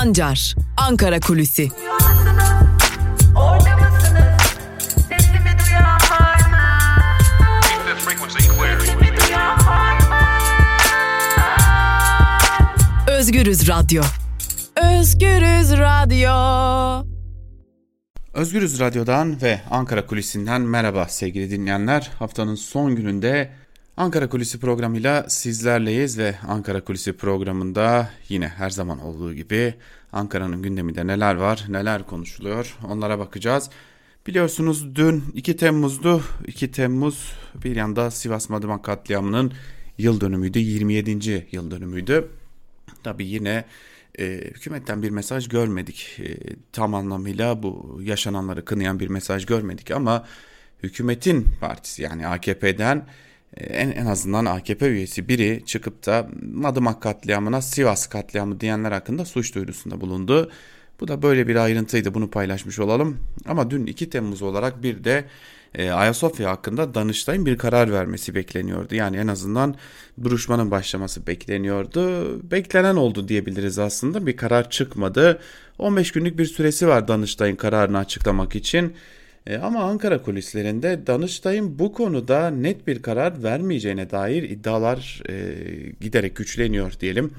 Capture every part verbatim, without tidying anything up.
Sancar, Ankara Kulüsi. Özgürüz Radyo. Özgürüz Radyo. Özgürüz Radyo'dan ve Ankara Kulisi'nden merhaba sevgili dinleyenler. Haftanın son gününde Ankara Kulisi programıyla sizlerleyiz ve Ankara Kulisi programında yine her zaman olduğu gibi Ankara'nın gündeminde neler var, neler konuşuluyor onlara bakacağız. Biliyorsunuz dün iki Temmuz'du. iki Temmuz bir yanda Sivas Madımak katliamının yıl dönümüydü, yirmi yedinci yıl dönümüydü. Tabii yine e, hükümetten bir mesaj görmedik. E, tam anlamıyla bu yaşananları kınayan bir mesaj görmedik ama hükümetin partisi yani A K P'den e, en, en azından A K P üyesi biri çıkıp da Madımak katliamına Sivas katliamı diyenler hakkında suç duyurusunda bulundu. Bu da böyle bir ayrıntıydı, bunu paylaşmış olalım. Ama dün iki Temmuz olarak bir de e, Ayasofya hakkında Danıştay'ın bir karar vermesi bekleniyordu. Yani en azından duruşmanın başlaması bekleniyordu. Beklenen oldu diyebiliriz aslında. Bir karar çıkmadı. on beş günlük bir süresi var Danıştay'ın kararını açıklamak için. E, ama Ankara kulislerinde Danıştay'ın bu konuda net bir karar vermeyeceğine dair iddialar e, giderek güçleniyor diyelim.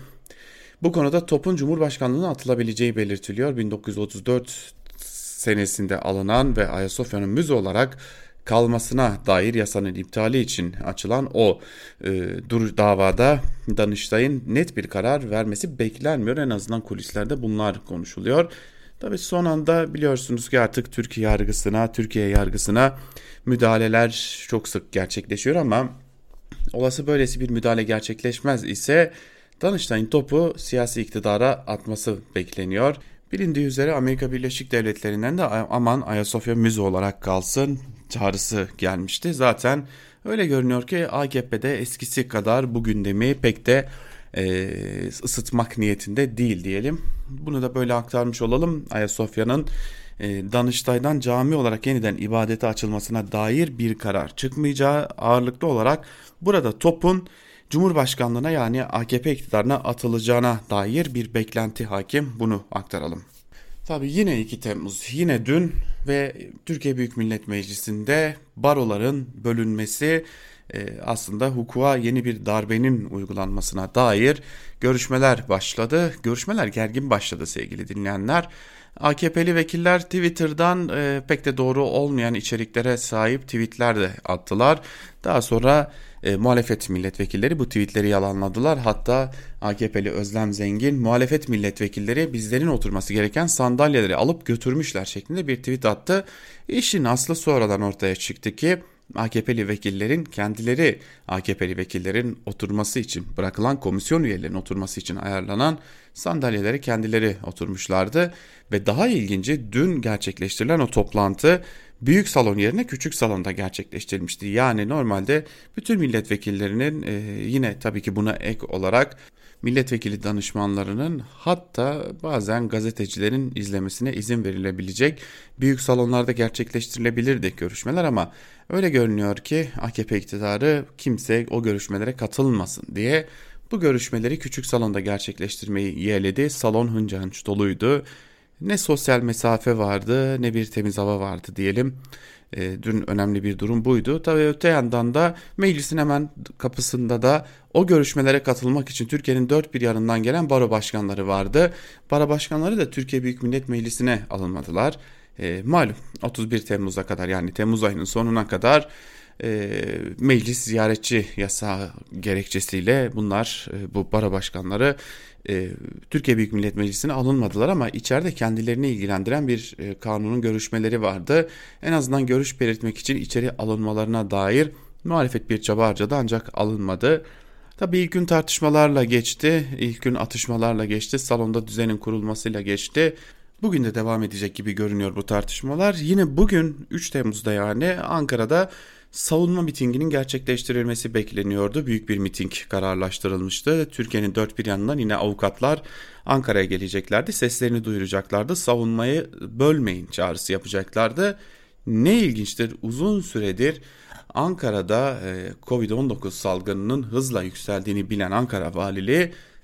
Bu konuda topun Cumhurbaşkanlığına atılabileceği belirtiliyor. bin dokuz yüz otuz dört senesinde alınan ve Ayasofya'nın müze olarak kalmasına dair yasanın iptali için açılan o e, dur davada Danıştay'ın net bir karar vermesi beklenmiyor. En azından kulislerde bunlar konuşuluyor. Tabii son anda biliyorsunuz ki artık Türkiye yargısına, Türkiye yargısına müdahaleler çok sık gerçekleşiyor ama olası böylesi bir müdahale gerçekleşmez ise Danıştay'ın topu siyasi iktidara atması bekleniyor. Bilindiği üzere Amerika Birleşik Devletleri'nden de aman Ayasofya müze olarak kalsın çağrısı gelmişti. Zaten öyle görünüyor ki A K P'de eskisi kadar bu gündemi pek de e, ısıtmak niyetinde değil diyelim. Bunu da böyle aktarmış olalım. Ayasofya'nın e, Danıştay'dan cami olarak yeniden ibadete açılmasına dair bir karar çıkmayacağı, ağırlıklı olarak burada topun Cumhurbaşkanlığına yani A K P iktidarına atılacağına dair bir beklenti hakim, bunu aktaralım. Tabii yine iki Temmuz, yine dün ve Türkiye Büyük Millet Meclisi'nde baroların bölünmesi aslında hukuka yeni bir darbenin uygulanmasına dair görüşmeler başladı. Görüşmeler gergin başladı sevgili dinleyenler. A K P'li vekiller Twitter'dan e, pek de doğru olmayan içeriklere sahip tweetler de attılar. Daha sonra e, muhalefet milletvekilleri bu tweetleri yalanladılar. Hatta A K P'li Özlem Zengin muhalefet milletvekilleri bizlerin oturması gereken sandalyeleri alıp götürmüşler şeklinde bir tweet attı. İşin aslı sonradan ortaya çıktı ki A K P'li vekillerin kendileri A K P'li vekillerin oturması için bırakılan komisyon üyelerinin oturması için ayarlanan sandalyelere kendileri oturmuşlardı ve daha ilginci dün gerçekleştirilen o toplantı büyük salon yerine küçük salonda gerçekleştirilmişti. Yani normalde bütün milletvekillerinin e, yine tabii ki buna ek olarak milletvekili danışmanlarının hatta bazen gazetecilerin izlemesine izin verilebilecek büyük salonlarda gerçekleştirilebilirdi görüşmeler ama öyle görünüyor ki A K P iktidarı kimse o görüşmelere katılmasın diye bu görüşmeleri küçük salonda gerçekleştirmeyi yeğledi. Salon hınca hınç doluydu. Ne sosyal mesafe vardı ne bir temiz hava vardı diyelim. E, dün önemli bir durum buydu. Tabii öte yandan da meclisin hemen kapısında da o görüşmelere katılmak için Türkiye'nin dört bir yanından gelen baro başkanları vardı. Baro başkanları da Türkiye Büyük Millet Meclisi'ne alınmadılar. E, malum otuz bir Temmuz'a kadar yani Temmuz ayının sonuna kadar e, meclis ziyaretçi yasağı gerekçesiyle bunlar e, bu baro başkanları e, Türkiye Büyük Millet Meclisi'ne alınmadılar ama içeride kendilerini ilgilendiren bir e, kanunun görüşmeleri vardı. En azından görüş belirtmek için içeri alınmalarına dair muhalefet bir çaba harcadı ancak alınmadı. Tabii ilk gün tartışmalarla geçti, ilk gün atışmalarla geçti, salonda düzenin kurulmasıyla geçti. Bugün de devam edecek gibi görünüyor bu tartışmalar. Yine bugün üç Temmuz'da yani Ankara'da savunma mitinginin gerçekleştirilmesi bekleniyordu. Büyük bir miting kararlaştırılmıştı. Türkiye'nin dört bir yanından yine avukatlar Ankara'ya geleceklerdi. Seslerini duyuracaklardı. Savunmayı bölmeyin çağrısı yapacaklardı. Ne ilginçtir, uzun süredir Ankara'da covid on dokuz salgınının hızla yükseldiğini bilen Ankara Valiliği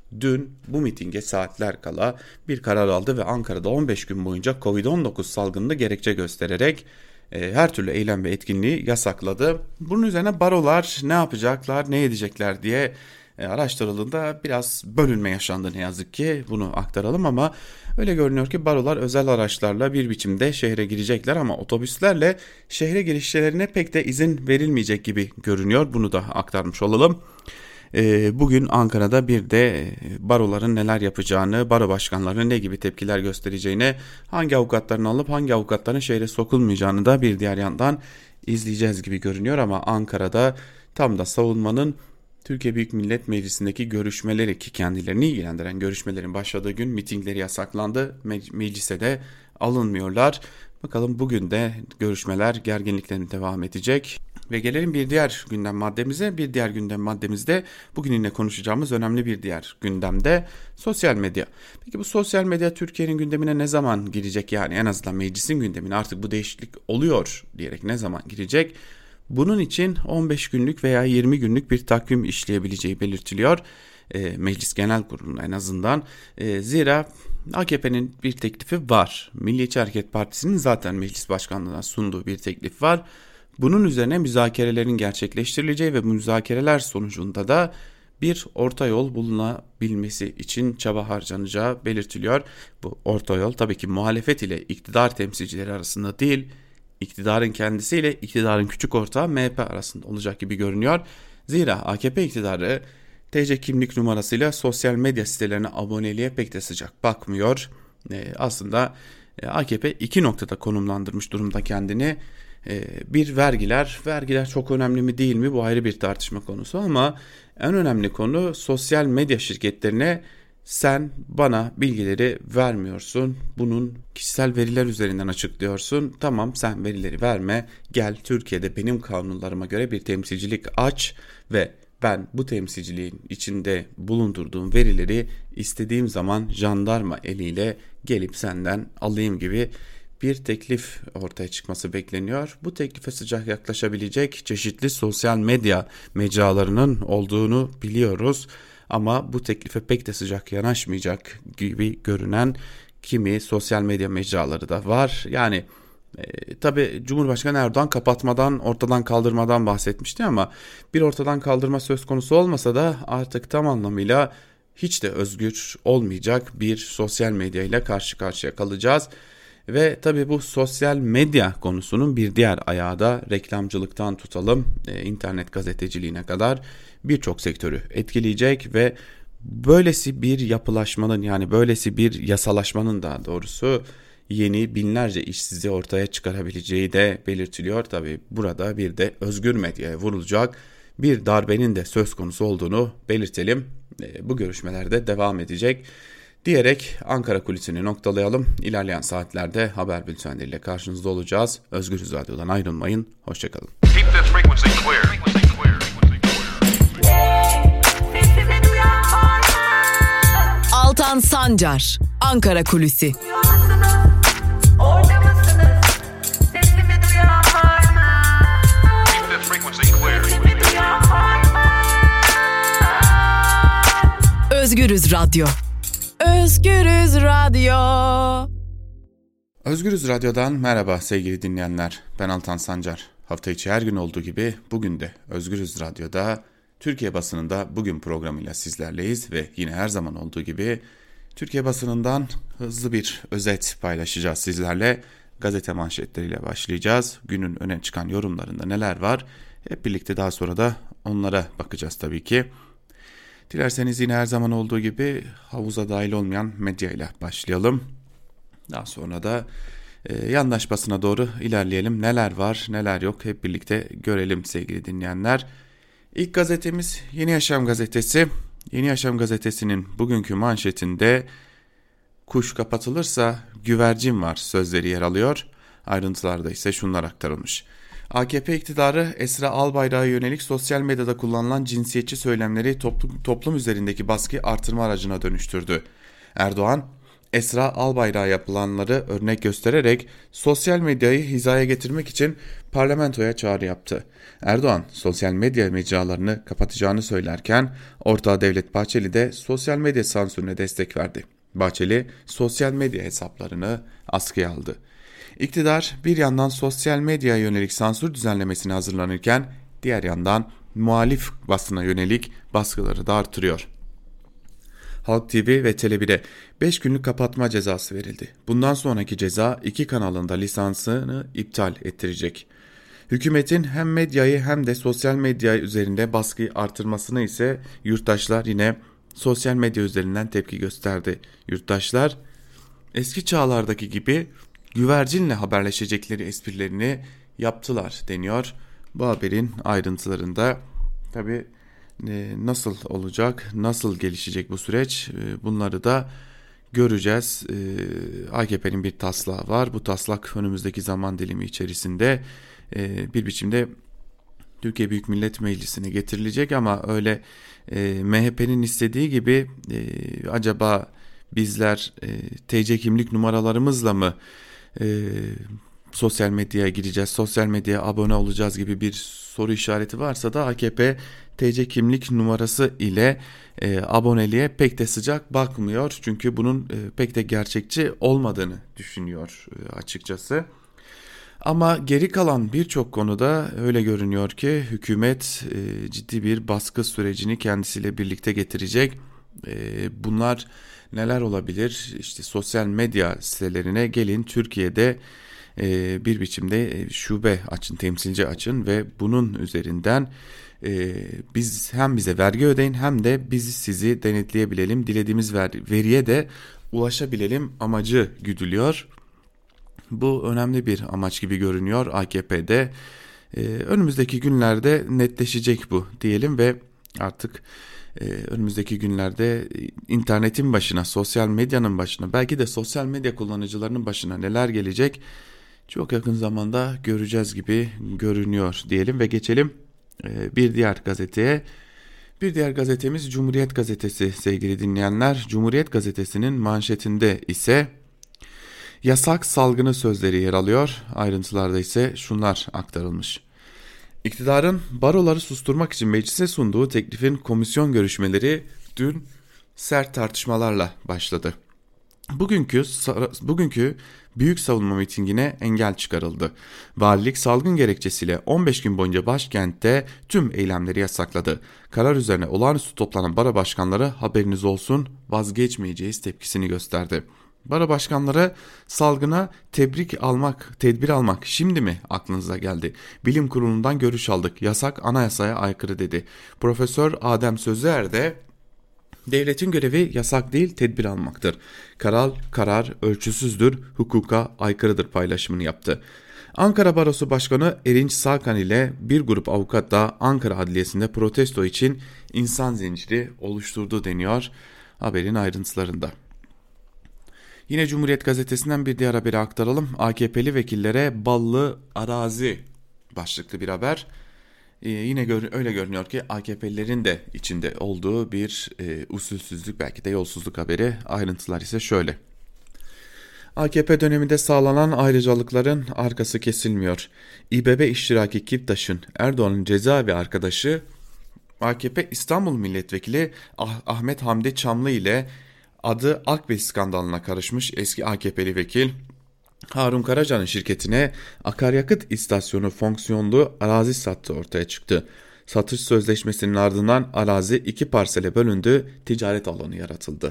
dün bu mitinge saatler kala bir karar aldı ve Ankara'da on beş gün boyunca kovid on dokuz salgınını gerekçe göstererek e, her türlü eylem ve etkinliği yasakladı. Bunun üzerine barolar ne yapacaklar, ne edecekler diye e, araştırıldığında biraz bölünme yaşandı ne yazık ki, bunu aktaralım ama öyle görünüyor ki barolar özel araçlarla bir biçimde şehre girecekler ama otobüslerle şehre girişlerine pek de izin verilmeyecek gibi görünüyor. Bunu da aktarmış olalım. Bugün Ankara'da bir de baroların neler yapacağını, baro başkanlarının ne gibi tepkiler göstereceğini, hangi avukatların alıp hangi avukatların şehre sokulmayacağını da bir diğer yandan izleyeceğiz gibi görünüyor. Ama Ankara'da tam da savunmanın Türkiye Büyük Millet Meclisi'ndeki görüşmeleri, ki kendilerini ilgilendiren görüşmelerin başladığı gün mitingleri yasaklandı. Me- meclise de alınmıyorlar. Bakalım bugün de görüşmeler gerginliklerin devam edecek. Ve gelelim bir diğer gündem maddemize. Bir diğer gündem maddemizde bugün yine konuşacağımız önemli bir diğer gündemde sosyal medya. Peki bu sosyal medya Türkiye'nin gündemine ne zaman girecek? Yani en azından meclisin gündemine artık bu değişiklik oluyor diyerek ne zaman girecek? Bunun için on beş günlük veya yirmi günlük bir takvim işleyebileceği belirtiliyor. E, Meclis Genel Kurulu'nda en azından. E, zira A K P'nin bir teklifi var. Milliyetçi Hareket Partisi'nin zaten meclis başkanlığına sunduğu bir teklif var. Bunun üzerine müzakerelerin gerçekleştirileceği ve bu müzakereler sonucunda da bir orta yol bulunabilmesi için çaba harcanacağı belirtiliyor. Bu orta yol tabii ki muhalefet ile iktidar temsilcileri arasında değil, iktidarın kendisiyle iktidarın küçük ortağı M H P arasında olacak gibi görünüyor. Zira A K P iktidarı T C kimlik numarasıyla sosyal medya sitelerine aboneliğe pek de sıcak bakmıyor. Ee, aslında A K P iki noktada konumlandırmış durumda kendini. Bir vergiler, vergiler çok önemli mi değil mi bu ayrı bir tartışma konusu ama en önemli konu sosyal medya şirketlerine sen bana bilgileri vermiyorsun, bunun kişisel veriler üzerinden açıklıyorsun, tamam sen verileri verme, gel Türkiye'de benim kanunlarıma göre bir temsilcilik aç ve ben bu temsilciliğin içinde bulundurduğum verileri istediğim zaman jandarma eliyle gelip senden alayım gibi bir teklif ortaya çıkması bekleniyor. Bu teklife sıcak yaklaşabilecek çeşitli sosyal medya mecralarının olduğunu biliyoruz. Ama bu teklife pek de sıcak yanaşmayacak gibi görünen kimi sosyal medya mecraları da var. Yani e, tabii Cumhurbaşkanı Erdoğan kapatmadan, ortadan kaldırmadan bahsetmişti ama bir ortadan kaldırma söz konusu olmasa da artık tam anlamıyla hiç de özgür olmayacak bir sosyal medya ile karşı karşıya kalacağız. Ve tabii bu sosyal medya konusunun bir diğer ayağı da reklamcılıktan tutalım e, internet gazeteciliğine kadar birçok sektörü etkileyecek ve böylesi bir yapılaşmanın, yani böylesi bir yasalaşmanın daha doğrusu yeni binlerce işsizliği ortaya çıkarabileceği de belirtiliyor. Tabii burada bir de özgür medyaya vurulacak bir darbenin de söz konusu olduğunu belirtelim. E, bu görüşmelerde devam edecek diyerek Ankara Kulisi'ni noktalayalım. İlerleyen saatlerde haber bültenleriyle karşınızda olacağız. Özgürüz Radyo'dan ayrılmayın. Hoşçakalın. Altan Sancar, Ankara Kulisi. Özgürüz Radyo. Özgürüz Radyo. Özgürüz Radyo'dan merhaba sevgili dinleyenler. Ben Altan Sancar. Hafta içi her gün olduğu gibi bugün de Özgürüz Radyo'da Türkiye basınında bugün programıyla sizlerleyiz ve yine her zaman olduğu gibi Türkiye basınından hızlı bir özet paylaşacağız sizlerle. Gazete manşetleriyle başlayacağız. Günün öne çıkan yorumlarında neler var? Hep birlikte daha sonra da onlara bakacağız tabii ki. Dilerseniz yine her zaman olduğu gibi havuza dahil olmayan medya ile başlayalım. Daha sonra da e, yandaş basına doğru ilerleyelim. Neler var neler yok hep birlikte görelim sevgili dinleyenler. İlk gazetemiz Yeni Yaşam gazetesi. Yeni Yaşam gazetesinin bugünkü manşetinde kuş kapatılırsa güvercin var sözleri yer alıyor. Ayrıntılarda ise şunlar aktarılmış. A K P iktidarı Esra Albayrak'a yönelik sosyal medyada kullanılan cinsiyetçi söylemleri toplum, toplum üzerindeki baskıyı artırma aracına dönüştürdü. Erdoğan, Esra Albayrak'a yapılanları örnek göstererek sosyal medyayı hizaya getirmek için parlamentoya çağrı yaptı. Erdoğan sosyal medya mecralarını kapatacağını söylerken ortağı Devlet Bahçeli de sosyal medya sansürüne destek verdi. Bahçeli sosyal medya hesaplarını askıya aldı. İktidar bir yandan sosyal medyaya yönelik sansür düzenlemesine hazırlanırken diğer yandan muhalif basına yönelik baskıları da artırıyor. Halk T V ve Tele bir'e beş günlük kapatma cezası verildi. Bundan sonraki ceza iki kanalın da lisansını iptal ettirecek. Hükümetin hem medyayı hem de sosyal medya üzerinde baskıyı artırmasını ise yurttaşlar yine sosyal medya üzerinden tepki gösterdi. Yurttaşlar eski çağlardaki gibi güvercinle haberleşecekleri esprilerini yaptılar deniyor. Bu haberin ayrıntılarında tabii nasıl olacak, nasıl gelişecek bu süreç, bunları da göreceğiz. A K P'nin bir taslağı var. Bu taslak önümüzdeki zaman dilimi içerisinde bir biçimde Türkiye Büyük Millet Meclisi'ne getirilecek ama öyle M H P'nin istediği gibi acaba bizler T C kimlik numaralarımızla mı sosyal medyaya gireceğiz, sosyal medyaya abone olacağız gibi bir soru işareti varsa da A K P T C kimlik numarası ile e, aboneliğe pek de sıcak bakmıyor. Çünkü bunun e, pek de gerçekçi olmadığını düşünüyor e, açıkçası. Ama geri kalan birçok konuda öyle görünüyor ki hükümet e, ciddi bir baskı sürecini kendisiyle birlikte getirecek. E, bunlar neler olabilir? İşte sosyal medya sitelerine gelin, Türkiye'de e, bir biçimde şube açın, temsilci açın ve bunun üzerinden e, biz hem bize vergi ödeyin hem de biz sizi denetleyebilelim, dilediğimiz ver, veriye de ulaşabilelim amacı güdülüyor. Bu önemli bir amaç gibi görünüyor A K P'de. Ee, önümüzdeki günlerde netleşecek bu diyelim ve artık e, önümüzdeki günlerde internetin başına, sosyal medyanın başına, belki de sosyal medya kullanıcılarının başına neler gelecek çok yakın zamanda göreceğiz gibi görünüyor diyelim ve geçelim e, bir diğer gazeteye. Bir diğer gazetemiz Cumhuriyet Gazetesi sevgili dinleyenler. Cumhuriyet Gazetesi'nin manşetinde ise yasak salgını sözleri yer alıyor. Ayrıntılarda ise şunlar aktarılmış. İktidarın baroları susturmak için meclise sunduğu teklifin komisyon görüşmeleri dün sert tartışmalarla başladı. Bugünkü bugünkü büyük savunma mitingine engel çıkarıldı. Valilik salgın gerekçesiyle on beş gün boyunca başkentte tüm eylemleri yasakladı. Karar üzerine olağanüstü toplanan baro başkanları haberiniz olsun vazgeçmeyeceğiz tepkisini gösterdi. Baro başkanları salgına tebrik almak, tedbir almak şimdi mi aklınıza geldi? Bilim kurulundan görüş aldık. Yasak anayasaya aykırı dedi. Profesör Adem Sözer de devletin görevi yasak değil tedbir almaktır. Karar, karar ölçüsüzdür, hukuka aykırıdır paylaşımını yaptı. Ankara Barosu Başkanı Erinç Salkan ile bir grup avukat da Ankara Adliyesi'nde protesto için insan zinciri oluşturdu deniyor haberin ayrıntılarında. Yine Cumhuriyet Gazetesi'nden bir diğer haberi aktaralım. A K P'li vekillere ballı arazi başlıklı bir haber. Ee, yine gör, öyle görünüyor ki A K P'lilerin de içinde olduğu bir e, usulsüzlük belki de yolsuzluk haberi. Ayrıntılar ise şöyle. A K P döneminde sağlanan ayrıcalıkların arkası kesilmiyor. İBB iştiraki Kiptaş'ın Erdoğan'ın cezaevi arkadaşı A K P İstanbul Milletvekili ah- Ahmet Hamdi Çamlı ile adı Akbel skandalına karışmış eski A K P'li vekil Harun Karaca'nın şirketine akaryakıt istasyonu fonksiyonlu arazi sattığı ortaya çıktı. Satış sözleşmesinin ardından arazi iki parsele bölündü, ticaret alanı yaratıldı.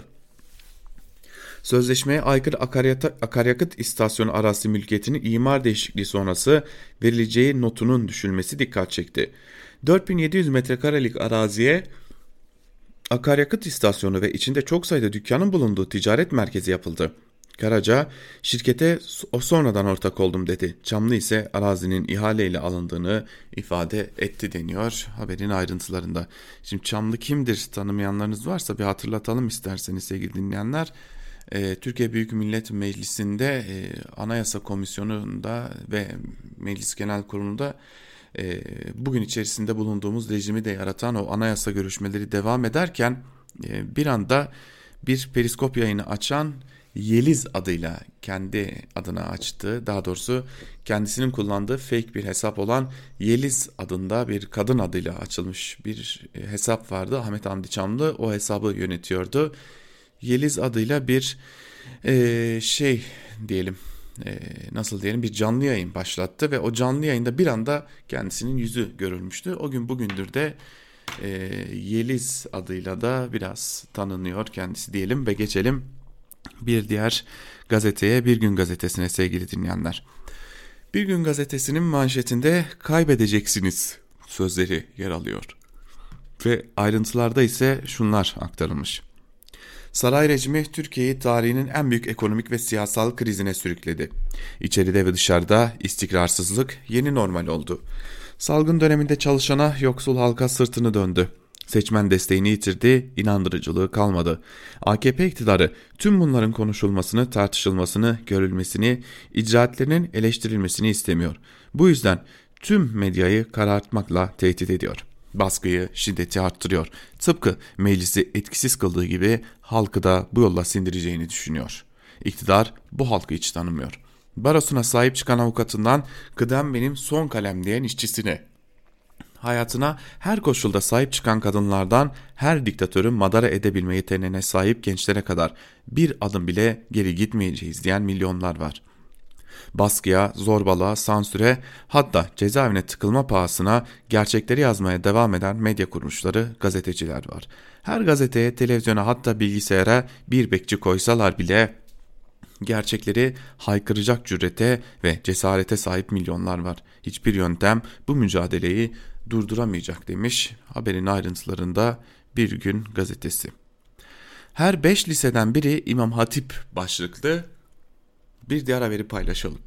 Sözleşmeye aykırı akaryakıt istasyonu arazi mülkiyetinin imar değişikliği sonrası verileceği notunun düşülmesi dikkat çekti. dört bin yedi yüz metrekarelik araziye akaryakıt istasyonu ve içinde çok sayıda dükkanın bulunduğu ticaret merkezi yapıldı. Karaca, şirkete o sonradan ortak oldum dedi. Çamlı ise arazinin ihaleyle alındığını ifade etti deniyor haberin ayrıntılarında. Şimdi Çamlı kimdir tanımayanlarınız varsa bir hatırlatalım isterseniz sevgili dinleyenler. Ee, Türkiye Büyük Millet Meclisi'nde e, Anayasa Komisyonu'nda ve Meclis Genel Kurulu'nda e, bugün içerisinde bulunduğumuz rejimi de yaratan o anayasa görüşmeleri devam ederken e, bir anda bir periskop yayını açan Yeliz adıyla kendi adına açtığı, daha doğrusu kendisinin kullandığı fake bir hesap olan Yeliz adında bir kadın adıyla açılmış bir hesap vardı. Ahmet Hamdi Çamlı o hesabı yönetiyordu. Yeliz adıyla bir e, şey diyelim e, nasıl diyelim bir canlı yayın başlattı ve o canlı yayında bir anda kendisinin yüzü görülmüştü. O gün bugündür de e, Yeliz adıyla da biraz tanınıyor kendisi diyelim ve geçelim bir diğer gazeteye, Bir Gün Gazetesi'ne sevgili dinleyenler. Bir Gün Gazetesi'nin manşetinde kaybedeceksiniz sözleri yer alıyor. Ve ayrıntılarda ise şunlar aktarılmış. Saray rejimi Türkiye'yi tarihinin en büyük ekonomik ve siyasal krizine sürükledi. İçeride ve dışarıda istikrarsızlık yeni normal oldu. Salgın döneminde çalışana, yoksul halka sırtını döndü. Seçmen desteğini yitirdi, inandırıcılığı kalmadı. A K P iktidarı tüm bunların konuşulmasını, tartışılmasını, görülmesini, icraatlerinin eleştirilmesini istemiyor. Bu yüzden tüm medyayı karartmakla tehdit ediyor. Baskıyı, şiddeti arttırıyor. Tıpkı meclisi etkisiz kıldığı gibi halkı da bu yolla sindireceğini düşünüyor. İktidar bu halkı hiç tanımıyor. Barosuna sahip çıkan avukatından kıdem benim son kalem diyen işçisine, hayatına her koşulda sahip çıkan kadınlardan her diktatörü madara edebilme yeteneğine sahip gençlere kadar bir adım bile geri gitmeyeceğiz diyen milyonlar var. Baskıya, zorbalığa, sansüre, hatta cezaevine tıkılma pahasına gerçekleri yazmaya devam eden medya kuruluşları, gazeteciler var. Her gazeteye, televizyona, hatta bilgisayara bir bekçi koysalar bile gerçekleri haykıracak cürete ve cesarete sahip milyonlar var. Hiçbir yöntem bu mücadeleyi durduramayacak demiş haberin ayrıntılarında Bir Gün Gazetesi. Her beş liseden biri İmam Hatip başlıklı bir diğer haberi paylaşalım.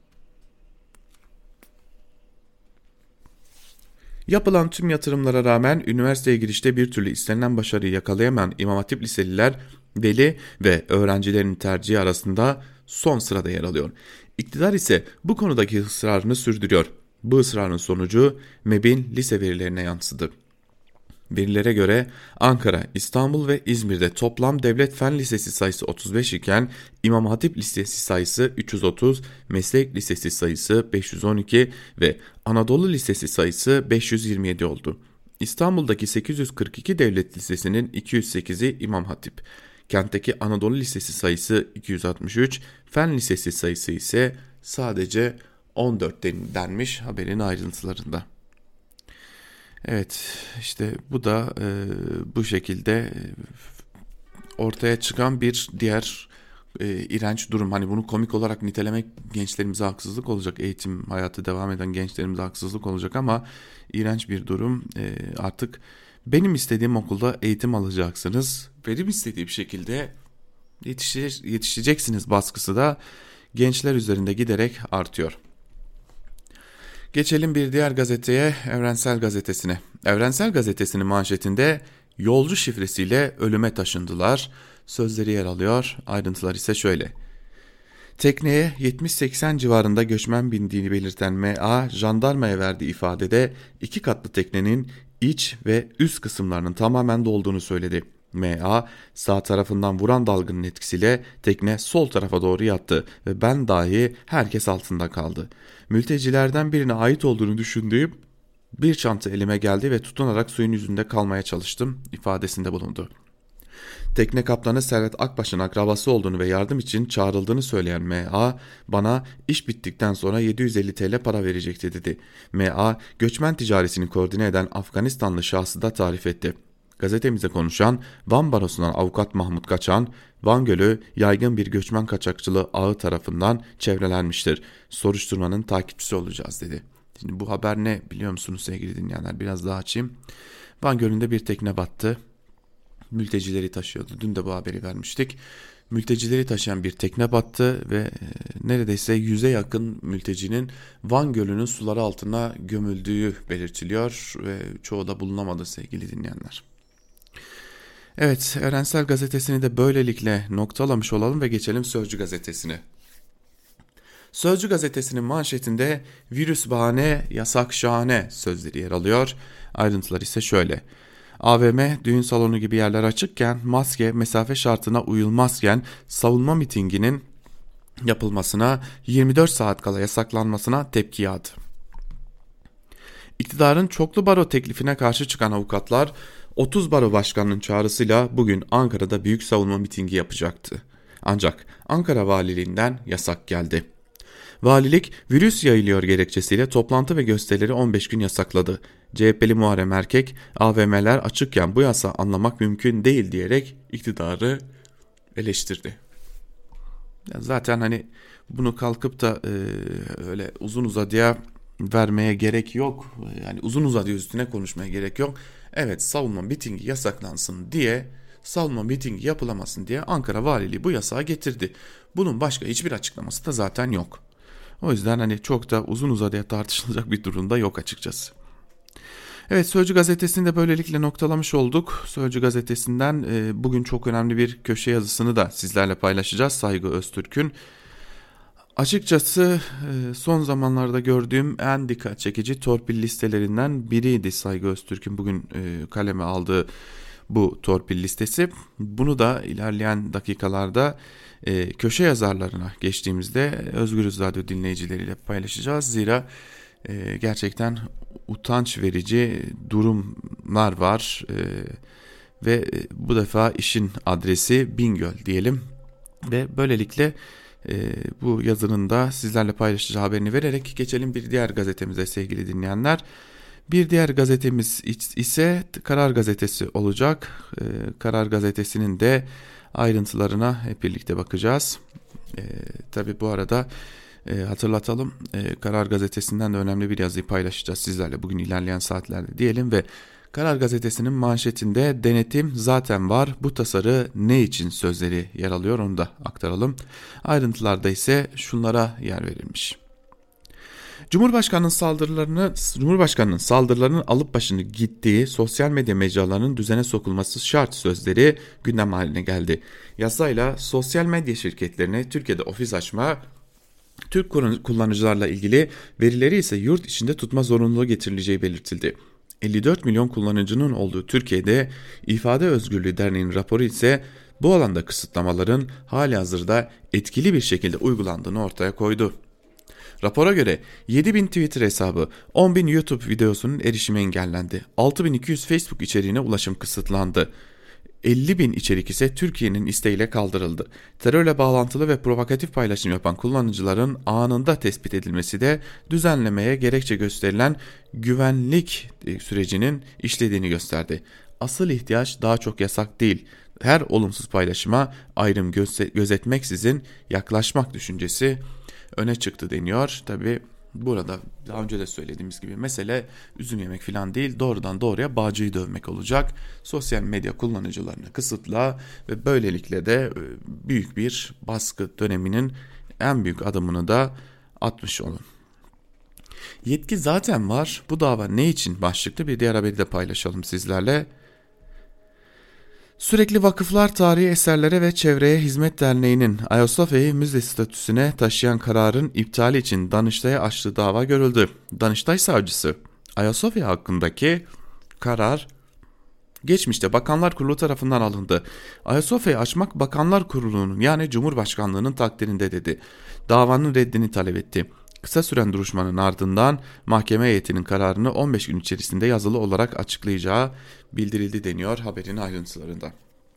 Yapılan tüm yatırımlara rağmen üniversiteye girişte bir türlü istenilen başarıyı yakalayamayan İmam Hatip liseliler veli ve öğrencilerin tercihi arasında son sırada yer alıyor. İktidar ise bu konudaki ısrarını sürdürüyor. Bu ısrarın sonucu M E B'in lise verilerine yansıdı. Verilere göre Ankara, İstanbul ve İzmir'de toplam devlet fen lisesi sayısı otuz beş iken İmam Hatip lisesi sayısı üç yüz otuz, meslek lisesi sayısı beş yüz on iki ve Anadolu lisesi sayısı beş yüz yirmi yedi oldu. İstanbul'daki sekiz yüz kırk iki devlet lisesinin iki yüz sekizi İmam Hatip. Kentteki Anadolu lisesi sayısı iki yüz altmış üç, fen lisesi sayısı ise sadece on dört denmiş haberin ayrıntılarında. Evet, işte bu da e, bu şekilde ortaya çıkan bir diğer e, iğrenç durum. Hani bunu komik olarak nitelemek gençlerimize haksızlık olacak. Eğitim hayatı devam eden gençlerimize haksızlık olacak ama iğrenç bir durum. E, artık benim istediğim okulda eğitim alacaksınız. Benim istediğim şekilde yetişe, yetişeceksiniz baskısı da gençler üzerinde giderek artıyor. Geçelim bir diğer gazeteye, Evrensel Gazetesi'ne. Evrensel Gazetesi'nin manşetinde yolcu şifresiyle ölüme taşındılar sözleri yer alıyor. Ayrıntılar ise şöyle. Tekneye yetmiş seksen civarında göçmen bindiğini belirten M A, jandarmaya verdiği ifadede iki katlı teknenin iç ve üst kısımlarının tamamen dolduğunu söyledi. M A, sağ tarafından vuran dalganın etkisiyle tekne sol tarafa doğru yattı ve ben dahi herkes altında kaldı. Mültecilerden birine ait olduğunu düşündüğüm bir çanta elime geldi ve tutunarak suyun yüzünde kalmaya çalıştım ifadesinde bulundu. Tekne kaptanı Servet Akbaş'ın akrabası olduğunu ve yardım için çağrıldığını söyleyen M A, bana iş bittikten sonra yedi yüz elli TL para verecekti dedi. M A, göçmen ticaretini koordine eden Afganistanlı şahsı da tarif etti. Gazetemize konuşan Van Barosu'ndan avukat Mahmut Kaçan, Van Gölü yaygın bir göçmen kaçakçılığı ağı tarafından çevrelenmiştir. Soruşturmanın takipçisi olacağız dedi. Şimdi bu haber ne biliyor musunuz sevgili dinleyenler? Biraz daha açayım. Van Gölü'nde bir tekne battı. Mültecileri taşıyordu. Dün de bu haberi vermiştik. Mültecileri taşıyan bir tekne battı ve neredeyse yüze yakın mültecinin Van Gölü'nün suları altına gömüldüğü belirtiliyor ve çoğu da bulunamadı sevgili dinleyenler. Evet, Evrensel Gazetesi'ni de böylelikle noktalamış olalım ve geçelim Sözcü Gazetesi'ne. Sözcü Gazetesi'nin manşetinde virüs bahane, yasak şahane sözleri yer alıyor. Ayrıntılar ise şöyle. A V M, düğün salonu gibi yerler açıkken, maske, mesafe şartına uyulmazken savunma mitinginin yapılmasına, yirmi dört saat kala yasaklanmasına tepki yağdı. İktidarın çoklu baro teklifine karşı çıkan avukatlar otuz baro başkanının çağrısıyla bugün Ankara'da büyük savunma mitingi yapacaktı. Ancak Ankara Valiliğinden yasak geldi. Valilik virüs yayılıyor gerekçesiyle toplantı ve gösterileri on beş gün yasakladı. C H P'li Muharrem Erkek, A V M'ler açıkken bu yasağı anlamak mümkün değil diyerek iktidarı eleştirdi. Zaten hani bunu kalkıp da e, öyle uzun uzadıya vermeye gerek yok. Yani uzun uzadıya üstüne konuşmaya gerek yok. Evet, savunma mitingi yasaklansın diye, savunma mitingi yapılamasın diye Ankara Valiliği bu yasağı getirdi. Bunun başka hiçbir açıklaması da zaten yok. O yüzden hani çok da uzun uzadıya tartışılacak bir durumda yok açıkçası. Evet, Sözcü gazetesini de böylelikle noktalamış olduk. Sözcü gazetesinden e, bugün çok önemli bir köşe yazısını da sizlerle paylaşacağız. Saygı Öztürk'ün. Açıkçası e, son zamanlarda gördüğüm en dikkat çekici torpil listelerinden biriydi Saygı Öztürk'ün bugün e, kaleme aldığı bu torpil listesi. Bunu da ilerleyen dakikalarda e, köşe yazarlarına geçtiğimizde Özgürüz Radyo dinleyicileriyle paylaşacağız. Zira e, gerçekten utanç verici durumlar var e, ve bu defa işin adresi Bingöl diyelim ve böylelikle e, bu yazının da sizlerle paylaşacağı haberini vererek geçelim bir diğer gazetemize sevgili dinleyenler. Bir diğer gazetemiz ise Karar Gazetesi olacak. E, Karar Gazetesi'nin de ayrıntılarına hep birlikte bakacağız. E, tabii bu arada E, hatırlatalım, e, Karar Gazetesi'nden de önemli bir yazıyı paylaşacağız sizlerle bugün ilerleyen saatlerde diyelim ve Karar Gazetesi'nin manşetinde denetim zaten var, bu tasarı ne için sözleri yer alıyor, onu da aktaralım. Ayrıntılarda ise şunlara yer verilmiş. Cumhurbaşkanının saldırılarını Cumhurbaşkanının saldırılarının alıp başını gittiği sosyal medya mecralarının düzene sokulması şart sözleri gündem haline geldi. Yasayla sosyal medya şirketlerine Türkiye'de ofis açma, Türk kullanıcılarla ilgili verileri ise yurt içinde tutma zorunluluğu getirileceği belirtildi. elli dört milyon kullanıcının olduğu Türkiye'de İfade Özgürlüğü Derneği'nin raporu ise bu alanda kısıtlamaların halihazırda etkili bir şekilde uygulandığını ortaya koydu. Rapora göre yedi bin Twitter hesabı, on bin YouTube videosunun erişimi engellendi, altı bin iki yüz Facebook içeriğine ulaşım kısıtlandı. elli bin içerik ise Türkiye'nin isteğiyle kaldırıldı. Terörle bağlantılı ve provokatif paylaşım yapan kullanıcıların anında tespit edilmesi de düzenlemeye gerekçe gösterilen güvenlik sürecinin işlediğini gösterdi. Asıl ihtiyaç daha çok yasak değil, her olumsuz paylaşıma ayrım gözetmeksizin yaklaşmak düşüncesi öne çıktı deniyor. Tabii burada daha önce de söylediğimiz gibi mesele üzüm yemek falan değil, doğrudan doğruya bağcıyı dövmek olacak. Sosyal medya kullanıcılarını kısıtla ve böylelikle de büyük bir baskı döneminin en büyük adımını da atmış olun. Yetki zaten var, bu dava ne için başlıklı bir diğer haberi de paylaşalım sizlerle. Sürekli Vakıflar Tarihi Eserlere ve Çevreye Hizmet Derneği'nin Ayasofya'yı müze statüsüne taşıyan kararın iptali için Danıştay'a açtığı dava görüldü. Danıştay savcısı Ayasofya hakkındaki karar geçmişte Bakanlar Kurulu tarafından alındı. Ayasofya'yı açmak Bakanlar Kurulu'nun yani Cumhurbaşkanlığı'nın takdirinde dedi. Davanın reddini talep etti. Kısa süren duruşmanın ardından mahkeme heyetinin kararını on beş gün içerisinde yazılı olarak açıklayacağı bildirildi deniyor haberin ayrıntılarında.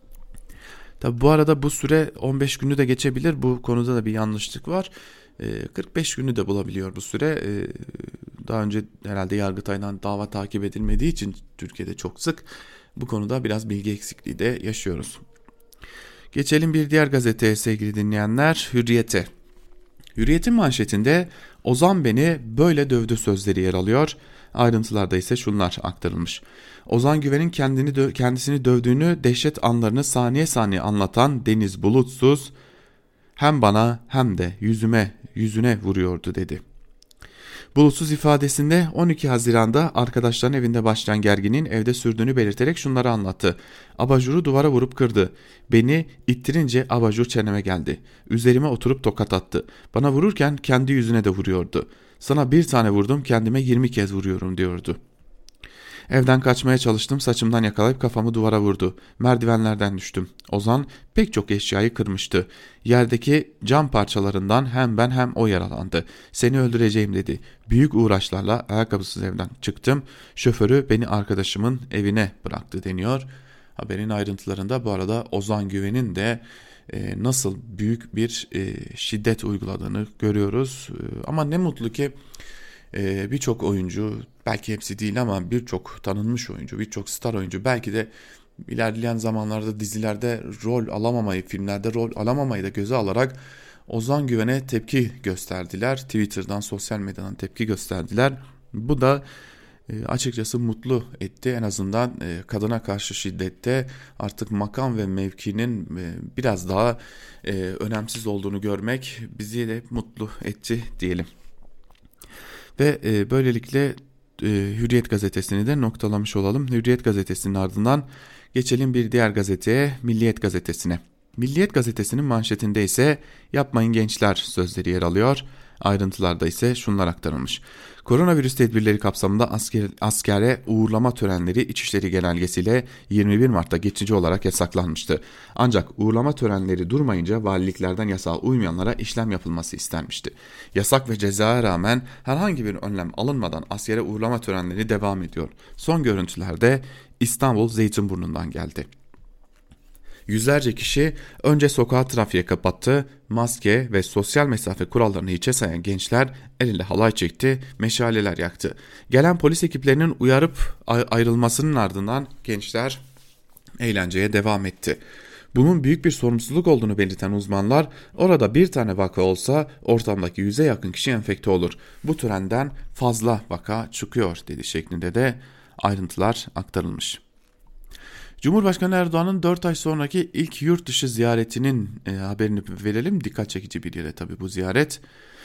Tabi bu arada bu süre on beş günü de geçebilir. Bu konuda da bir yanlışlık var. kırk beş günü de bulabiliyor bu süre. Daha önce herhalde Yargıtay'dan dava takip edilmediği için Türkiye'de çok sık bu konuda biraz bilgi eksikliği de yaşıyoruz. Geçelim bir diğer gazeteye sevgili dinleyenler, Hürriyet'e. Hürriyet'in manşetinde Ozan beni böyle dövdü sözleri yer alıyor. Ayrıntılarda ise şunlar aktarılmış. Ozan Güven'in kendini dö- kendisini dövdüğünü, dehşet anlarını saniye saniye anlatan Deniz Bulutsuz hem bana hem de yüzüme yüzüne vuruyordu dedi. Bulutsuz ifadesinde on iki Haziran'da arkadaşların evinde başlayan gerginliğin evde sürdüğünü belirterek şunları anlattı. Abajuru duvara vurup kırdı. Beni ittirince abajur çeneme geldi. Üzerime oturup tokat attı. Bana vururken kendi yüzüne de vuruyordu. Sana bir tane vurdum, kendime yirmi kez vuruyorum diyordu. Evden kaçmaya çalıştım, saçımdan yakalayıp kafamı duvara vurdu. Merdivenlerden düştüm. Ozan pek çok eşyayı kırmıştı. Yerdeki cam parçalarından hem ben hem o yaralandı. Seni öldüreceğim dedi. Büyük uğraşlarla ayakkabısız evden çıktım. Şoförü beni arkadaşımın evine bıraktı deniyor. Haberin ayrıntılarında bu arada Ozan Güven'in de e, nasıl büyük bir e, şiddet uyguladığını görüyoruz. E, ama ne mutlu ki e, birçok oyuncu, belki hepsi değil ama birçok tanınmış oyuncu, birçok star oyuncu belki de ilerleyen zamanlarda dizilerde rol alamamayı, filmlerde rol alamamayı da göze alarak Ozan Güven'e tepki gösterdiler. Twitter'dan, sosyal medyadan tepki gösterdiler. Bu da açıkçası mutlu etti. En azından kadına karşı şiddette artık makam ve mevkinin biraz daha önemsiz olduğunu görmek bizi de mutlu etti diyelim. Ve böylelikle Hürriyet gazetesini de noktalamış olalım. Hürriyet gazetesinin ardından geçelim bir diğer gazeteye, Milliyet gazetesine. Milliyet gazetesinin manşetinde ise "Yapmayın gençler" sözleri yer alıyor. Ayrıntılarda ise şunlar aktarılmış. Koronavirüs tedbirleri kapsamında asker, askere uğurlama törenleri İçişleri Genelgesiyle yirmi bir Mart'ta geçici olarak yasaklanmıştı. Ancak uğurlama törenleri durmayınca valiliklerden yasağa uymayanlara işlem yapılması istenmişti. Yasak ve cezaya rağmen herhangi bir önlem alınmadan askere uğurlama törenleri devam ediyor. Son görüntülerde İstanbul Zeytinburnu'ndan geldi. Yüzlerce kişi önce sokağı trafiğe kapattı, maske ve sosyal mesafe kurallarını hiçe sayan gençler el ele halay çekti, meşaleler yaktı. Gelen polis ekiplerinin uyarıp ayrılmasının ardından gençler eğlenceye devam etti. Bunun büyük bir sorumsuzluk olduğunu belirten uzmanlar, orada bir tane vaka olsa ortamdaki yüze yakın kişi enfekte olur. Bu trenden fazla vaka çıkıyor dedi şeklinde de ayrıntılar aktarılmış. Cumhurbaşkanı Erdoğan'ın dört ay sonraki ilk yurt dışı ziyaretinin e, haberini verelim. Dikkat çekici bir yere tabii bu ziyaret.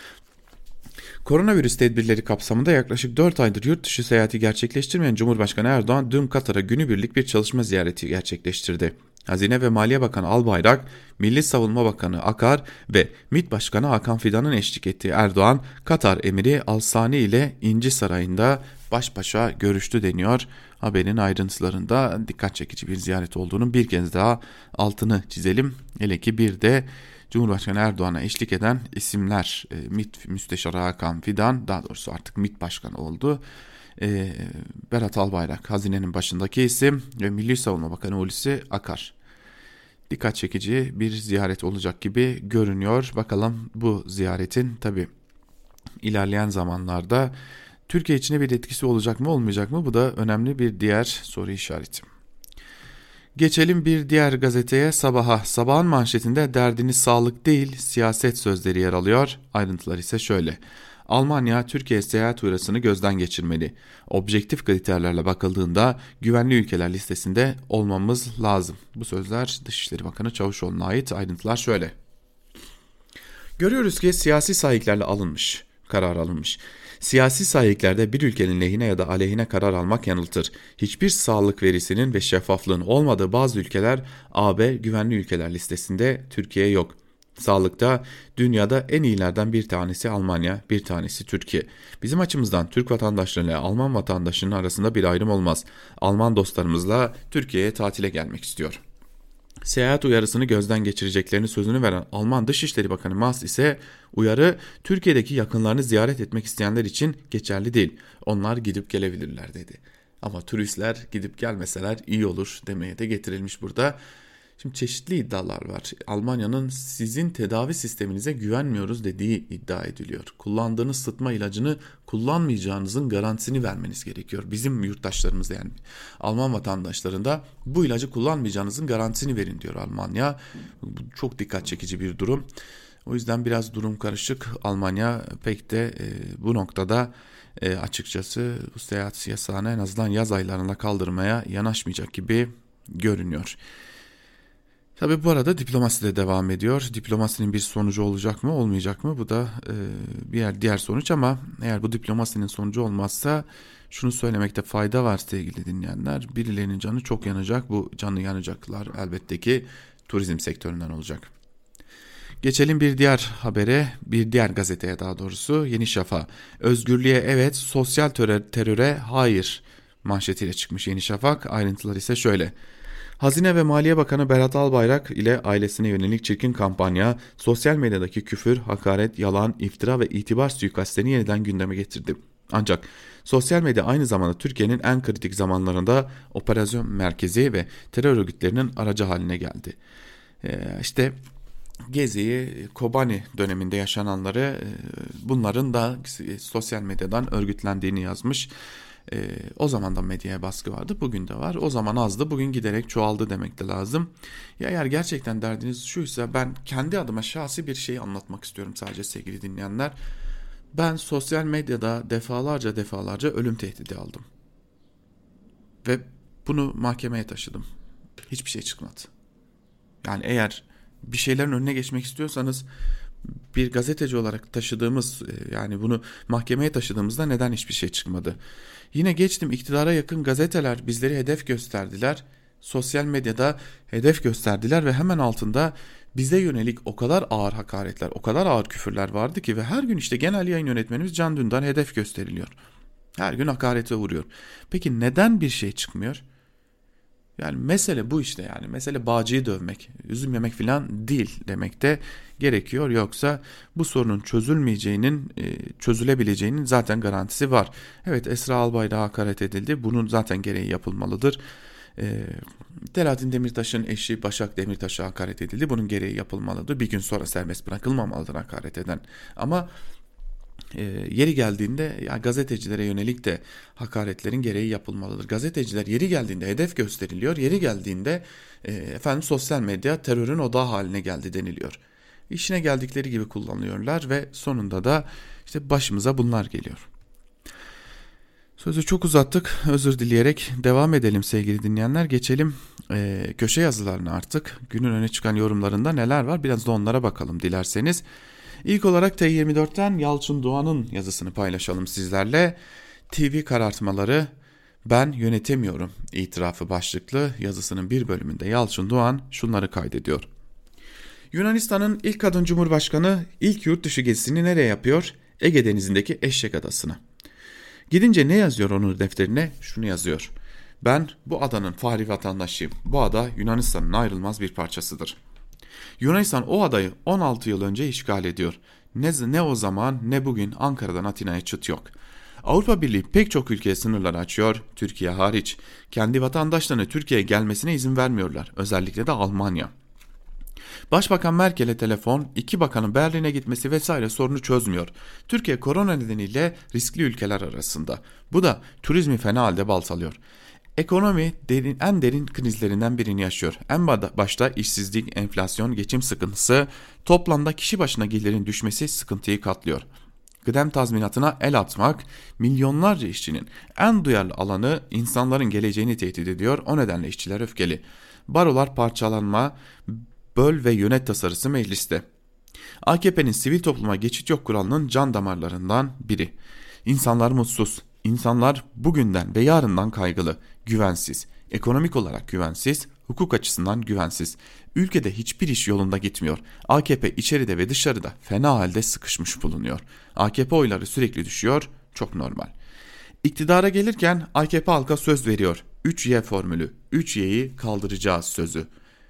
Koronavirüs tedbirleri kapsamında yaklaşık dört aydır yurt dışı seyahati gerçekleştirmeyen Cumhurbaşkanı Erdoğan dün Katar'a günübirlik bir çalışma ziyareti gerçekleştirdi. Hazine ve Maliye Bakanı Albayrak, Milli Savunma Bakanı Akar ve MİT Başkanı Hakan Fidan'ın eşlik ettiği Erdoğan, Katar Emiri Al Sani ile İnci Sarayı'nda baş başa görüştü deniyor. Haberin ayrıntılarında dikkat çekici bir ziyaret olduğunu bir kez daha altını çizelim. Hele ki bir de Cumhurbaşkanı Erdoğan'a eşlik eden isimler, MİT Müsteşarı Hakan Fidan, daha doğrusu artık MİT Başkanı oldu. E, Berat Albayrak hazinenin başındaki isim ve Milli Savunma Bakanı Hulusi Akar. Dikkat çekici bir ziyaret olacak gibi görünüyor. Bakalım bu ziyaretin tabii ilerleyen zamanlarda Türkiye içine bir etkisi olacak mı olmayacak mı? Bu da önemli bir diğer soru işareti. Geçelim bir diğer gazeteye, Sabah'a. Sabah'ın manşetinde "Derdiniz sağlık değil, siyaset" sözleri yer alıyor. Ayrıntılar ise şöyle. Almanya, Türkiye seyahat uyarısını gözden geçirmeli. Objektif kriterlerle bakıldığında güvenli ülkeler listesinde olmamız lazım. Bu sözler Dışişleri Bakanı Çavuşoğlu'na ait. Ayrıntılar şöyle. Görüyoruz ki siyasi sahiplerle alınmış, karar alınmış. Siyasi sahiklerde bir ülkenin lehine ya da aleyhine karar almak yanıltır. Hiçbir sağlık verisinin ve şeffaflığın olmadığı bazı ülkeler A B güvenli ülkeler listesinde, Türkiye yok. Sağlıkta dünyada en iyilerden bir tanesi Almanya, bir tanesi Türkiye. Bizim açımızdan Türk vatandaşlarıyla Alman vatandaşının arasında bir ayrım olmaz. Alman dostlarımızla Türkiye'ye tatile gelmek istiyor. Seyahat uyarısını gözden geçireceklerini sözünü veren Alman Dışişleri Bakanı Maas ise uyarı Türkiye'deki yakınlarını ziyaret etmek isteyenler için geçerli değil. Onlar gidip gelebilirler dedi. Ama turistler gidip gelmeseler iyi olur demeye de getirilmiş burada. Şimdi çeşitli iddialar var. Almanya'nın sizin tedavi sisteminize güvenmiyoruz dediği iddia ediliyor. Kullandığınız sıtma ilacını kullanmayacağınızın garantisini vermeniz gerekiyor. Bizim yurttaşlarımız, yani Alman vatandaşlarında bu ilacı kullanmayacağınızın garantisini verin diyor Almanya. Bu çok dikkat çekici bir durum. O yüzden biraz durum karışık. Almanya pek de e, bu noktada e, açıkçası bu seyahat yasağını en azından yaz aylarında kaldırmaya yanaşmayacak gibi görünüyor. Tabii bu arada diplomasi de devam ediyor. Diplomasinin bir sonucu olacak mı olmayacak mı? Bu da e, bir diğer sonuç, ama eğer bu diplomasinin sonucu olmazsa şunu söylemekte fayda var sevgili dinleyenler. Birilerinin canı çok yanacak. Bu canı yanacaklar elbette ki turizm sektöründen olacak. Geçelim bir diğer habere, bir diğer gazeteye daha doğrusu, Yeni Şafak. Özgürlüğe evet, sosyal teröre hayır manşetiyle çıkmış Yeni Şafak. Ayrıntılar ise şöyle. Hazine ve Maliye Bakanı Berat Albayrak ile ailesine yönelik çirkin kampanya, sosyal medyadaki küfür, hakaret, yalan, iftira ve itibar suikastlerini yeniden gündeme getirdi. Ancak sosyal medya aynı zamanda Türkiye'nin en kritik zamanlarında operasyon merkezi ve terör örgütlerinin aracı haline geldi. Ee, işte Gezi, Kobani döneminde yaşananları, bunların da sosyal medyadan örgütlendiğini yazmış. Ee, o zaman da medyaya baskı vardı, bugün de var. O zaman azdı, bugün giderek çoğaldı demek de lazım. Ya eğer gerçekten derdiniz şuysa, ben kendi adıma şahsi bir şey anlatmak istiyorum sadece sevgili dinleyenler. Ben sosyal medyada defalarca defalarca ölüm tehdidi aldım. Ve bunu mahkemeye taşıdım. Hiçbir şey çıkmadı. Yani eğer bir şeylerin önüne geçmek istiyorsanız, bir gazeteci olarak taşıdığımız, yani bunu mahkemeye taşıdığımızda neden hiçbir şey çıkmadı? Yine geçtim, iktidara yakın gazeteler bizleri hedef gösterdiler. Sosyal medyada hedef gösterdiler ve hemen altında bize yönelik o kadar ağır hakaretler, o kadar ağır küfürler vardı ki ve her gün işte genel yayın yönetmenimiz Can Dündar hedef gösteriliyor. Her gün hakarete uğruyor. Peki neden bir şey çıkmıyor? Yani mesele bu işte yani. Mesele bağcıyı dövmek, üzüm yemek falan değil demek de gerekiyor. Yoksa bu sorunun çözülmeyeceğinin, çözülebileceğinin zaten garantisi var. Evet, Esra Albayrak'a hakaret edildi. Bunun zaten gereği yapılmalıdır. E, Selahattin Demirtaş'ın eşi Başak Demirtaş'a hakaret edildi. Bunun gereği yapılmalıdır. Bir gün sonra serbest bırakılmamalıdır hakaret eden. Ama E, yeri geldiğinde ya gazetecilere yönelik de hakaretlerin gereği yapılmalıdır. Gazeteciler yeri geldiğinde hedef gösteriliyor. Yeri geldiğinde e, efendim sosyal medya terörün odağı haline geldi deniliyor. İşine geldikleri gibi kullanıyorlar ve sonunda da işte başımıza bunlar geliyor. Sözü çok uzattık. Özür dileyerek devam edelim sevgili dinleyenler. Geçelim e, köşe yazılarına artık. Günün öne çıkan yorumlarında neler var? Biraz da onlara bakalım dilerseniz. İlk olarak T yirmi dört'ten Yalçın Doğan'ın yazısını paylaşalım sizlerle. T V karartmaları ben yönetemiyorum itirafı başlıklı yazısının bir bölümünde Yalçın Doğan şunları kaydediyor. Yunanistan'ın ilk kadın cumhurbaşkanı ilk yurt dışı gezisini nereye yapıyor? Ege Denizi'ndeki Eşek Adası'na. Gidince ne yazıyor onun defterine? Şunu yazıyor. Ben bu adanın fahri vatandaşıyım. Bu ada Yunanistan'ın ayrılmaz bir parçasıdır. Yunanistan o adayı on altı yıl önce işgal ediyor. Ne, ne o zaman ne bugün Ankara'dan Atina'ya çıt yok. Avrupa Birliği pek çok ülkeye sınırlar açıyor, Türkiye hariç. Kendi vatandaşlarına Türkiye'ye gelmesine izin vermiyorlar, özellikle de Almanya. Başbakan Merkel'e telefon, iki bakanın Berlin'e gitmesi vesaire sorunu çözmüyor. Türkiye korona nedeniyle riskli ülkeler arasında. Bu da turizmi fena halde baltalıyor. Ekonomi derin, en derin krizlerinden birini yaşıyor. En başta işsizlik, enflasyon, geçim sıkıntısı, toplamda kişi başına gelirin düşmesi sıkıntıyı katlıyor. Kıdem tazminatına el atmak, milyonlarca işçinin en duyarlı alanı, insanların geleceğini tehdit ediyor. O nedenle işçiler öfkeli. Barolar parçalanma, böl ve yönet tasarısı mecliste. A K P'nin sivil topluma geçit yok kuralının can damarlarından biri. İnsanlar mutsuz. İnsanlar bugünden ve yarından kaygılı, güvensiz, ekonomik olarak güvensiz, hukuk açısından güvensiz. Ülkede hiçbir iş yolunda gitmiyor. A K P içeride ve dışarıda fena halde sıkışmış bulunuyor. A K P oyları sürekli düşüyor, çok normal. İktidara gelirken A K P halka söz veriyor. üç Y formülü, üç Y'yi kaldıracağız sözü.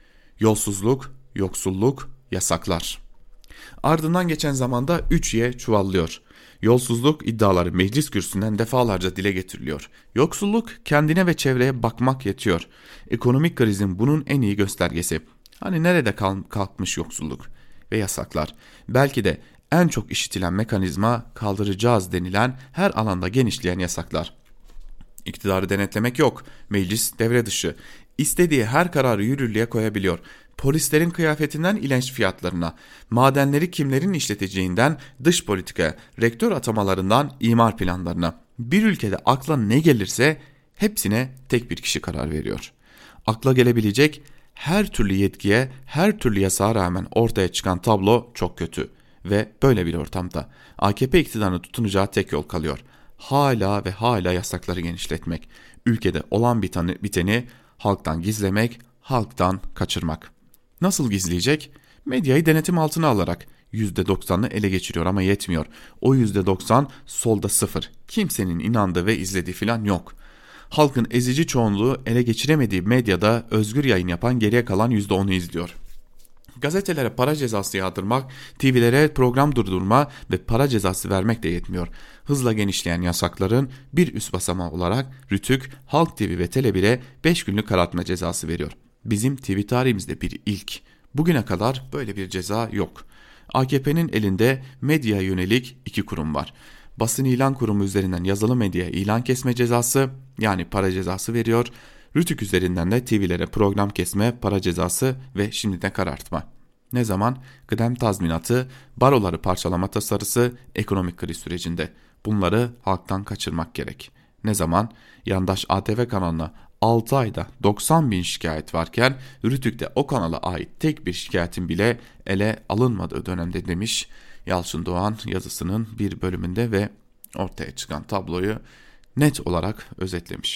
Yolsuzluk, yoksulluk, yasaklar. Ardından geçen zamanda üç Y çuvallıyor. Yolsuzluk iddiaları meclis kürsüsünden defalarca dile getiriliyor. Yoksulluk kendine ve çevreye bakmak yetiyor. Ekonomik krizin bunun en iyi göstergesi. Hani nerede kalkmış yoksulluk ve yasaklar? Belki de en çok işitilen mekanizma kaldıracağız denilen her alanda genişleyen yasaklar. İktidarı denetlemek yok. Meclis devre dışı. İstediği her kararı yürürlüğe koyabiliyor. Polislerin kıyafetinden ilenç fiyatlarına, madenleri kimlerin işleteceğinden dış politikaya, rektör atamalarından imar planlarına. Bir ülkede akla ne gelirse hepsine tek bir kişi karar veriyor. Akla gelebilecek her türlü yetkiye, her türlü yasağa rağmen ortaya çıkan tablo çok kötü. Ve böyle bir ortamda A K P iktidarına tutunacağı tek yol kalıyor. Hala ve hala yasakları genişletmek. Ülkede olan biteni, biteni halktan gizlemek, halktan kaçırmak. Nasıl gizleyecek? Medyayı denetim altına alarak yüzde doksanını ele geçiriyor ama yetmiyor. O yüzde doksan solda sıfır. Kimsenin inandığı ve izlediği falan yok. Halkın ezici çoğunluğu ele geçiremediği medyada özgür yayın yapan geriye kalan yüzde onu izliyor. Gazetelere para cezası yağdırmak, T V'lere program durdurma ve para cezası vermek de yetmiyor. Hızla genişleyen yasakların bir üst basamağı olarak Rütük, Halk T V ve Tele bir'e beş günlük karartma cezası veriyor. Bizim T V tarihimizde bir ilk. Bugüne kadar böyle bir ceza yok. A K P'nin elinde medyaya yönelik iki kurum var. Basın ilan kurumu üzerinden yazılı medyaya ilan kesme cezası, yani para cezası veriyor. Rütük üzerinden de T V'lere program kesme, para cezası ve şimdi de karartma. Ne zaman? Kıdem tazminatı, baroları parçalama tasarısı, ekonomik kriz sürecinde. Bunları halktan kaçırmak gerek. Ne zaman? Yandaş A T V kanalına altı ayda doksan bin şikayet varken Rütük'te o kanala ait tek bir şikayetin bile ele alınmadığı dönemde demiş Yalçın Doğan yazısının bir bölümünde ve ortaya çıkan tabloyu net olarak özetlemiş.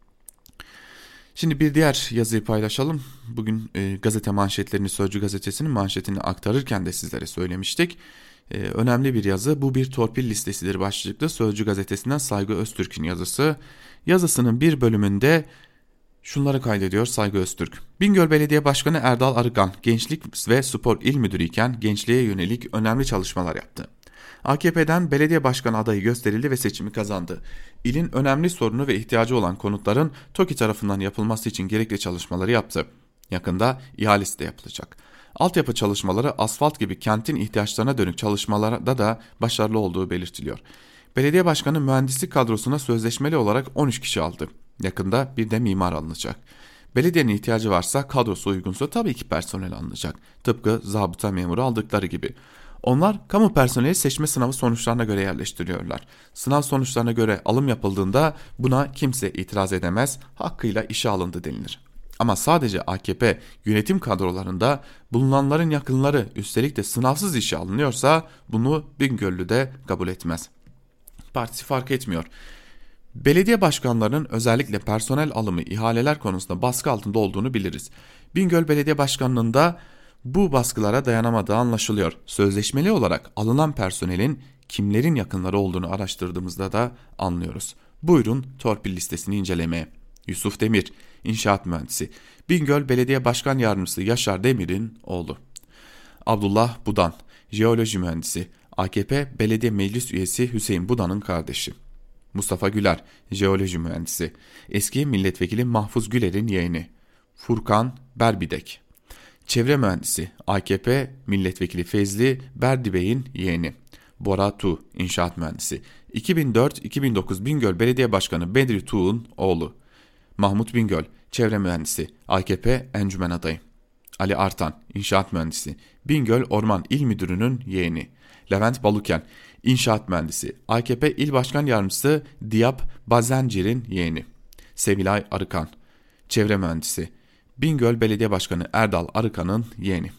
Şimdi bir diğer yazıyı paylaşalım. Bugün e, gazete manşetlerini, Sözcü gazetesinin manşetini aktarırken de sizlere söylemiştik. E, önemli bir yazı. Bu bir torpil listesidir başlıklı Sözcü gazetesinden Saygı Öztürk'ün yazısı. Yazısının bir bölümünde şunları kaydediyor Saygı Öztürk. Bingöl Belediye Başkanı Erdal Arıkan, Gençlik ve Spor İl Müdürü iken gençliğe yönelik önemli çalışmalar yaptı. A K P'den belediye başkanı adayı gösterildi ve seçimi kazandı. İlin önemli sorunu ve ihtiyacı olan konutların TOKİ tarafından yapılması için gerekli çalışmaları yaptı. Yakında ihalesi de yapılacak. Altyapı çalışmaları asfalt gibi kentin ihtiyaçlarına dönük çalışmalarda da başarılı olduğu belirtiliyor. Belediye başkanı mühendislik kadrosuna sözleşmeli olarak on üç kişi aldı. Yakında bir de mimar alınacak. Belediyenin ihtiyacı varsa, kadrosu uygunsa tabii ki personel alınacak. Tıpkı zabıta memuru aldıkları gibi. Onlar kamu personeli seçme sınavı sonuçlarına göre yerleştiriyorlar. Sınav sonuçlarına göre alım yapıldığında buna kimse itiraz edemez, hakkıyla işe alındı denilir. Ama sadece A K P yönetim kadrolarında bulunanların yakınları üstelik de sınavsız işe alınıyorsa bunu Bingöllü de kabul etmez. Partisi fark etmiyor. Belediye başkanlarının özellikle personel alımı, ihaleler konusunda baskı altında olduğunu biliriz. Bingöl Belediye Başkanlığı'nda bu baskılara dayanamadığı anlaşılıyor. Sözleşmeli olarak alınan personelin kimlerin yakınları olduğunu araştırdığımızda da anlıyoruz. Buyurun torpil listesini incelemeye. Yusuf Demir, inşaat mühendisi. Bingöl Belediye Başkan Yardımcısı Yaşar Demir'in oğlu. Abdullah Budan, jeoloji mühendisi. A K P Belediye Meclis Üyesi Hüseyin Budan'ın kardeşi. Mustafa Güler, jeoloji mühendisi. Eski milletvekili Mahfuz Güler'in yeğeni. Furkan Berbidek, çevre mühendisi. A K P milletvekili Fezli Berdibey'in yeğeni. Bora Tu, inşaat mühendisi. iki bin dört iki bin dokuz Bingöl Belediye Başkanı Bedri Tuğ'un oğlu. Mahmut Bingöl, çevre mühendisi. A K P encümen adayı. Ali Artan, inşaat mühendisi. Bingöl Orman İl Müdürü'nün yeğeni. Levent Baluken, inşaat mühendisi. A K P İl Başkan Yardımcısı Diyap Bazencir'in yeğeni. Sevilay Arıkan, çevre mühendisi. Bingöl Belediye Başkanı Erdal Arıkan'ın yeğeni.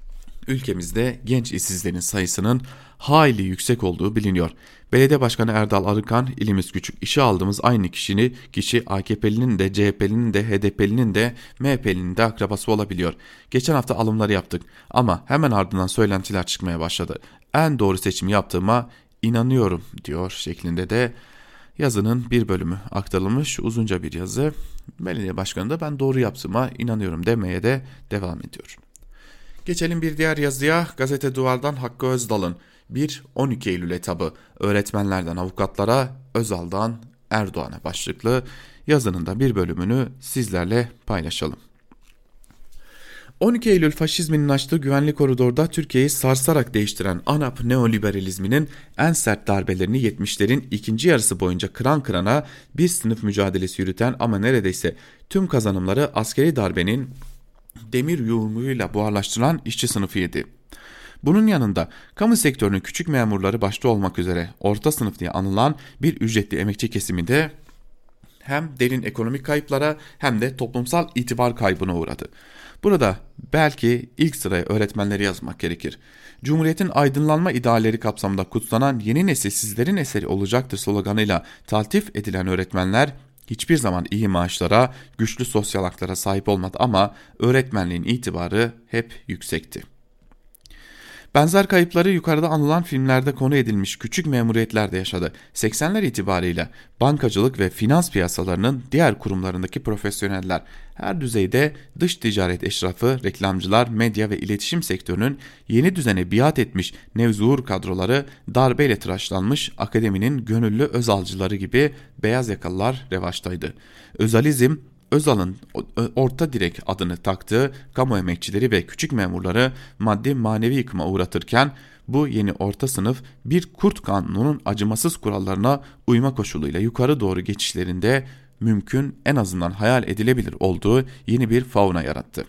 Ülkemizde genç işsizlerin sayısının hayli yüksek olduğu biliniyor. Belediye Başkanı Erdal Arıkan, ilimiz küçük, işe aldığımız aynı kişinin kişi A K P'linin de C H P'linin de H D P'linin de M H P'linin de akrabası olabiliyor. Geçen hafta alımları yaptık ama hemen ardından söylentiler çıkmaya başladı. En doğru seçimi yaptığıma inanıyorum diyor şeklinde de yazının bir bölümü aktarılmış, uzunca bir yazı. Belediye başkanı da ben doğru yaptığıma inanıyorum demeye de devam ediyor. Geçelim bir diğer yazıya. Gazete Duvar'dan Hakkı Özdal'ın bir on iki Eylül etabı, öğretmenlerden avukatlara, Özal'dan Erdoğan'a başlıklı yazının da bir bölümünü sizlerle paylaşalım. on iki Eylül faşizminin açtığı güvenli koridorda Türkiye'yi sarsarak değiştiren ANAP neoliberalizminin en sert darbelerini yetmişlerin ikinci yarısı boyunca kıran kırana bir sınıf mücadelesi yürüten ama neredeyse tüm kazanımları askeri darbenin demir yumruğuyla buharlaştırılan işçi sınıfıydı. Bunun yanında kamu sektörünün küçük memurları başta olmak üzere orta sınıf diye anılan bir ücretli emekçi kesimi de hem derin ekonomik kayıplara hem de toplumsal itibar kaybına uğradı. Burada belki ilk sıraya öğretmenleri yazmak gerekir. Cumhuriyetin aydınlanma idealleri kapsamında kutsanan yeni nesil sizlerin eseri olacaktır sloganıyla taltif edilen öğretmenler hiçbir zaman iyi maaşlara, güçlü sosyal haklara sahip olmadı ama öğretmenliğin itibarı hep yüksekti. Benzer kayıpları yukarıda anılan filmlerde konu edilmiş küçük memuriyetler de yaşadı. seksenler itibarıyla bankacılık ve finans piyasalarının diğer kurumlarındaki profesyoneller, her düzeyde dış ticaret eşrafı, reklamcılar, medya ve iletişim sektörünün yeni düzene biat etmiş nevzuhur kadroları, darbeyle tıraşlanmış akademinin gönüllü özalcıları gibi beyaz yakalılar revaçtaydı. Özalizm, Özal'ın orta direk adını taktığı kamu emekçileri ve küçük memurları maddi manevi yıkıma uğratırken, bu yeni orta sınıf bir kurt kanununun acımasız kurallarına uyma koşuluyla yukarı doğru geçişlerinde mümkün, en azından hayal edilebilir olduğu yeni bir fauna yarattı.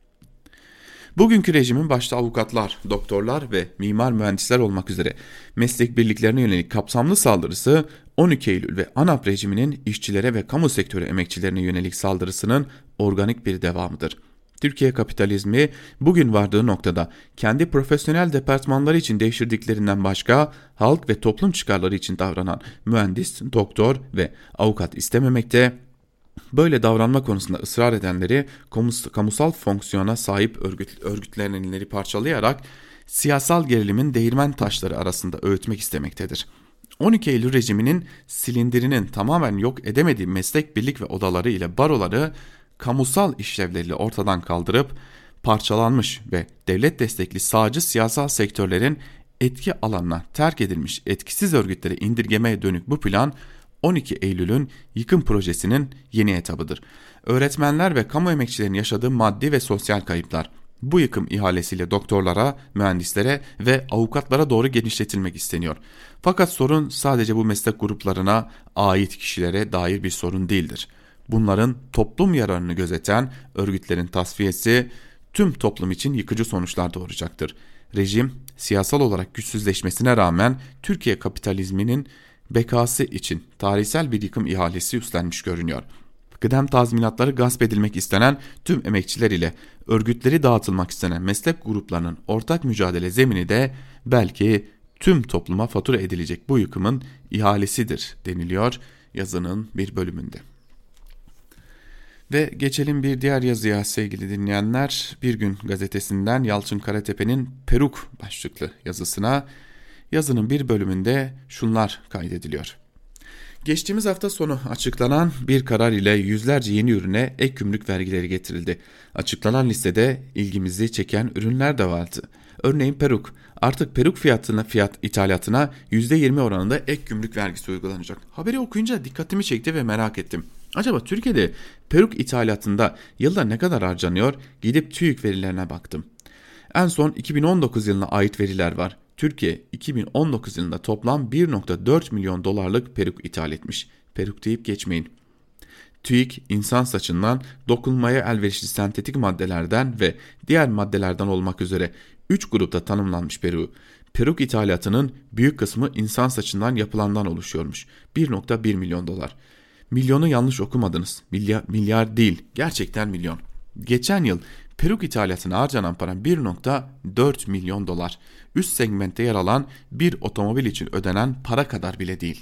Bugünkü rejimin başta avukatlar, doktorlar ve mimar mühendisler olmak üzere meslek birliklerine yönelik kapsamlı saldırısı, on iki Eylül ve ANAP rejiminin işçilere ve kamu sektörü emekçilerine yönelik saldırısının organik bir devamıdır. Türkiye kapitalizmi bugün vardığı noktada kendi profesyonel departmanları için devşirdiklerinden başka halk ve toplum çıkarları için davranan mühendis, doktor ve avukat istememekte. Böyle davranma konusunda ısrar edenleri kamusal fonksiyona sahip örgüt, örgütlenenleri parçalayarak siyasal gerilimin değirmen taşları arasında öğütmek istemektedir. on iki Eylül rejiminin silindirinin tamamen yok edemediği meslek birlik ve odaları ile baroları kamusal işlevleriyle ortadan kaldırıp parçalanmış ve devlet destekli sağcı siyasal sektörlerin etki alanına terk edilmiş etkisiz örgütleri indirgemeye dönük bu plan, on iki Eylül'ün yıkım projesinin yeni etabıdır. Öğretmenler ve kamu emekçilerinin yaşadığı maddi ve sosyal kayıplar bu yıkım ihalesiyle doktorlara, mühendislere ve avukatlara doğru genişletilmek isteniyor. Fakat sorun sadece bu meslek gruplarına ait kişilere dair bir sorun değildir. Bunların toplum yararını gözeten örgütlerin tasfiyesi tüm toplum için yıkıcı sonuçlar doğuracaktır. Rejim siyasal olarak güçsüzleşmesine rağmen Türkiye kapitalizminin bekası için tarihsel bir yıkım ihalesi üstlenmiş görünüyor. Kıdem tazminatları gasp edilmek istenen tüm emekçiler ile örgütleri dağıtılmak istenen meslek gruplarının ortak mücadele zemini de belki tüm topluma fatura edilecek bu yıkımın ihalesidir deniliyor yazının bir bölümünde. Ve geçelim bir diğer yazıya sevgili dinleyenler. Bir Gün gazetesinden Yalçın Karatepe'nin Peruk başlıklı yazısına. Yazının bir bölümünde şunlar kaydediliyor. Geçtiğimiz hafta sonu açıklanan bir karar ile yüzlerce yeni ürüne ek gümrük vergileri getirildi. Açıklanan listede ilgimizi çeken ürünler de vardı. Örneğin peruk. Artık peruk fiyatına, fiyat ithalatına yüzde yirmi oranında ek gümrük vergisi uygulanacak. Haberi okuyunca dikkatimi çekti ve merak ettim. Acaba Türkiye'de peruk ithalatında yılda ne kadar harcanıyor? Gidip TÜİK verilerine baktım. En son iki bin on dokuz yılına ait veriler var. Türkiye iki bin on dokuz yılında toplam bir virgül dört milyon dolarlık peruk ithal etmiş. Peruk deyip geçmeyin. TÜİK insan saçından dokunmaya elverişli sentetik maddelerden ve diğer maddelerden olmak üzere üç grupta tanımlanmış peruğu. Peruk ithalatının büyük kısmı insan saçından yapılandan oluşuyormuş. bir virgül bir milyon dolar. Milyonu yanlış okumadınız. Milyar, milyar değil, gerçekten milyon. Geçen yıl peruk ithalatına harcanan para bir virgül dört milyon dolar. Üst segmentte yer alan bir otomobil için ödenen para kadar bile değil.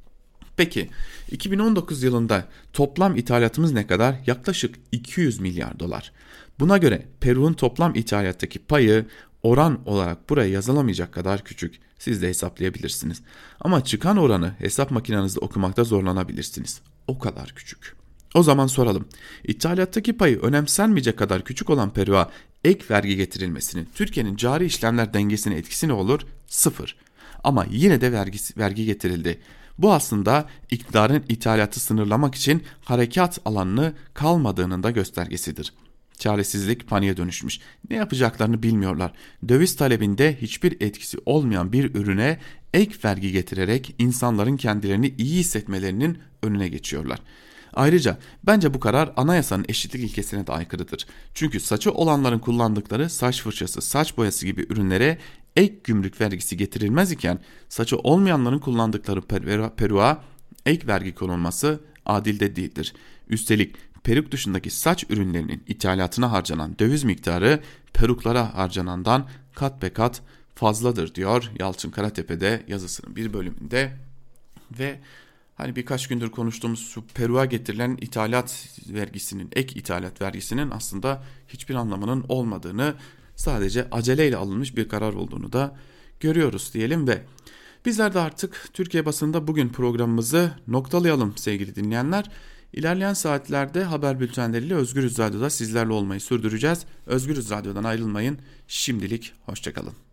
Peki iki bin on dokuz yılında toplam ithalatımız ne kadar? Yaklaşık iki yüz milyar dolar. Buna göre peruğun toplam ithalattaki payı oran olarak buraya yazılamayacak kadar küçük. Siz de hesaplayabilirsiniz. Ama çıkan oranı hesap makinenizde okumakta zorlanabilirsiniz. O kadar küçük. O zaman soralım. İthalattaki payı önemsenmeyecek kadar küçük olan peruğa ek vergi getirilmesinin Türkiye'nin cari işlemler dengesine etkisi ne olur? Sıfır. Ama yine de vergi, vergi getirildi. Bu aslında iktidarın ithalatı sınırlamak için harekat alanını kalmadığının da göstergesidir. Çaresizlik paniğe dönüşmüş. Ne yapacaklarını bilmiyorlar. Döviz talebinde hiçbir etkisi olmayan bir ürüne ek vergi getirerek insanların kendilerini iyi hissetmelerinin önüne geçiyorlar. Ayrıca bence bu karar anayasanın eşitlik ilkesine de aykırıdır. Çünkü saçı olanların kullandıkları saç fırçası, saç boyası gibi ürünlere ek gümrük vergisi getirilmez iken saçı olmayanların kullandıkları peruğa ek vergi konulması adil de değildir. Üstelik peruk dışındaki saç ürünlerinin ithalatına harcanan döviz miktarı peruklara harcanandan kat be kat fazladır diyor Yalçın Karatepe'de yazısının bir bölümünde. Ve hani birkaç gündür konuştuğumuz şu peruğa getirilen ithalat vergisinin, ek ithalat vergisinin aslında hiçbir anlamının olmadığını sadece aceleyle alınmış bir karar olduğunu da görüyoruz diyelim ve bizler de artık Türkiye basında bugün programımızı noktalayalım sevgili dinleyenler. İlerleyen saatlerde haber bültenleriyle Özgürüz Radyo'da sizlerle olmayı sürdüreceğiz. Özgürüz Radyo'dan ayrılmayın. Şimdilik hoşçakalın.